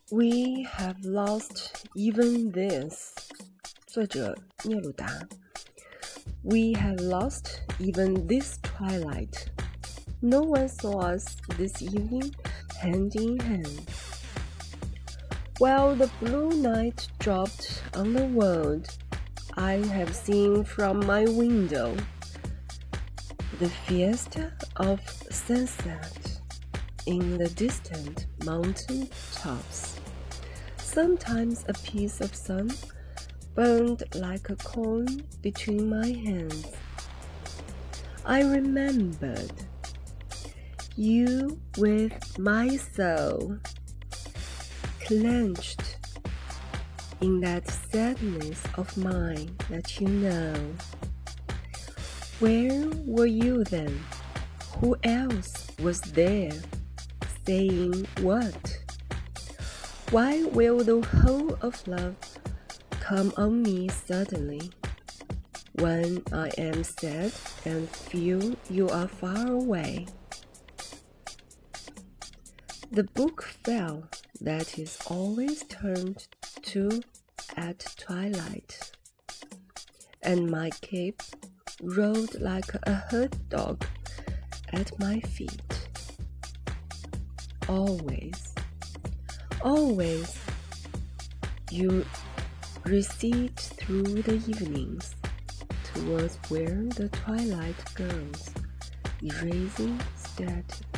We have lost even this. 作者聂鲁达。We have lost even this twilight. No one saw us this evening, hand in hand. While the blue night dropped on the world, I have seen from my window the fiesta of sunset in the distant mountain tops. Sometimes a piece of sun burned like a coin between my hands. I remembered you with my soul clenched in that sadness of mine that you know. Where were you then? Who else was there? Saying what? Why will the whole of love come on me suddenly, when I am sad and feel you are far away? The book fell that is always turned to at twilight, and my cape rolled like a hurt dog at my feet. Always, always, you recede through the evenings towards where the twilight goes, erasing static.